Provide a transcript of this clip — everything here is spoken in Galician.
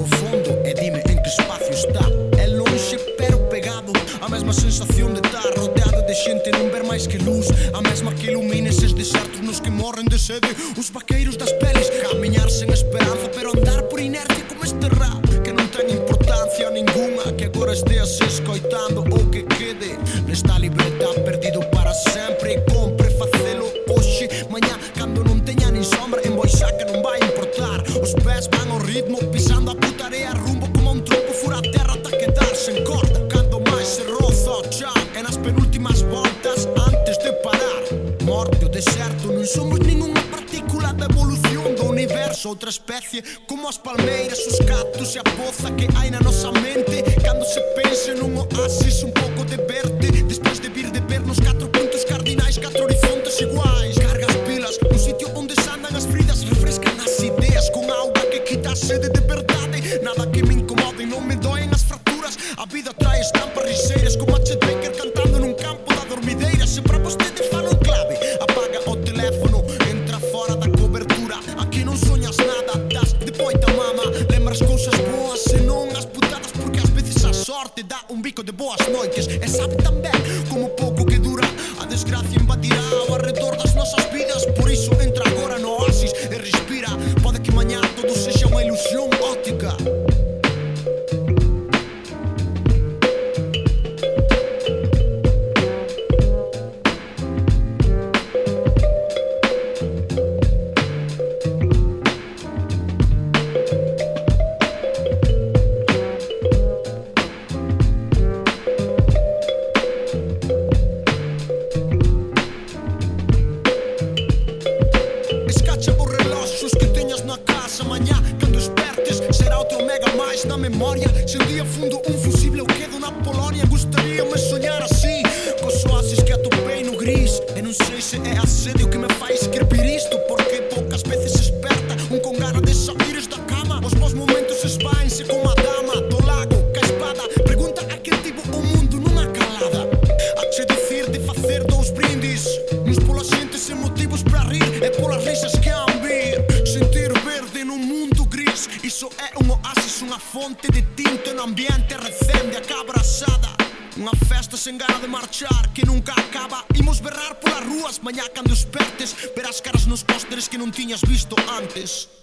ao fondo e dime en que espacio está. É lonxe pero pegado, a mesma sensación de estar rodeado de xente e non ver máis que luz, a mesma que ilumina eses desertos nos que morren de sede. Os vaqueiros das pelis, camiñar sen esperanza pero andar por inercia como este rap que non ten importancia ningunha, que agora esteas escoitando ou que quede nesta libreta perdido para sempre. E compre facelo hoxe, mañá cando non teña nin sombra, en voz xa que non vai importar. Os pés van ao ritmo, pisando a putarea rumbo como un trompo fura a terra ata quedarse en corda. Cando máis se roza o chan e nas penúltimas voltas antes de parar. Morte o deserto, non somos ningunha partícula da evolución do universo, outra especie como as palmeiras, os cactus e a poza que hai na nosa mente. Cando se pense nun oasis, un pouco de verde, despois de vir de ver nos 4 puntos cardinais, 4 horizontes iguais. Carga as pilas, un sitio onde se andan as fridas, refrescan as ideas con auga que quita a sede de verdade. Nada que me incomode, non me doen as fracturas. A vida trae estampas riseiras como a Chet Baker cantando nun campo da dormideira. Se para vostede falo en clave, apaga o teléfono, entra fora da cobertura. Aquí non soñas nada, das de poita mama. Lembras cousas boas e non as putadas, porque ás veces a sorte dá un bico de boas noites e sabe tan ben como pouco que dura. A desgracia invadirá ao arredor das nosas vidas, por iso entra agora no oasis e respira. Pode que mañá todo sexa unha ilusión óptica. Escacha os reloxos que teñas na casa. Mañá, cando espertes, será outro mega máis na memoria. Se un día fundo un fusible eu quedo na Polonia, gustaríame soñar así, cos oasis que atopei no gris. E non sei se é a sede o que me fai escrever isto, porque poucas veces esperta un con gana de saíres da cama. Os bons momentos esvaense como a dama do lago ca espada. Pregunta a quen tivo o mundo nunha calada. A che dicir de facer 2 brindis, uns pola xente sen motivos para rir e polas risas que han vir. Sentir verde nun mundo gris, iso é un oasis, unha fonte de tinta no ambiente recende a cabrasada. Unha festa sen gana de marchar que nunca acaba. Imos berrar polas rúas mañá cando espertes, verás caras nos pósteres que non tiñas visto antes.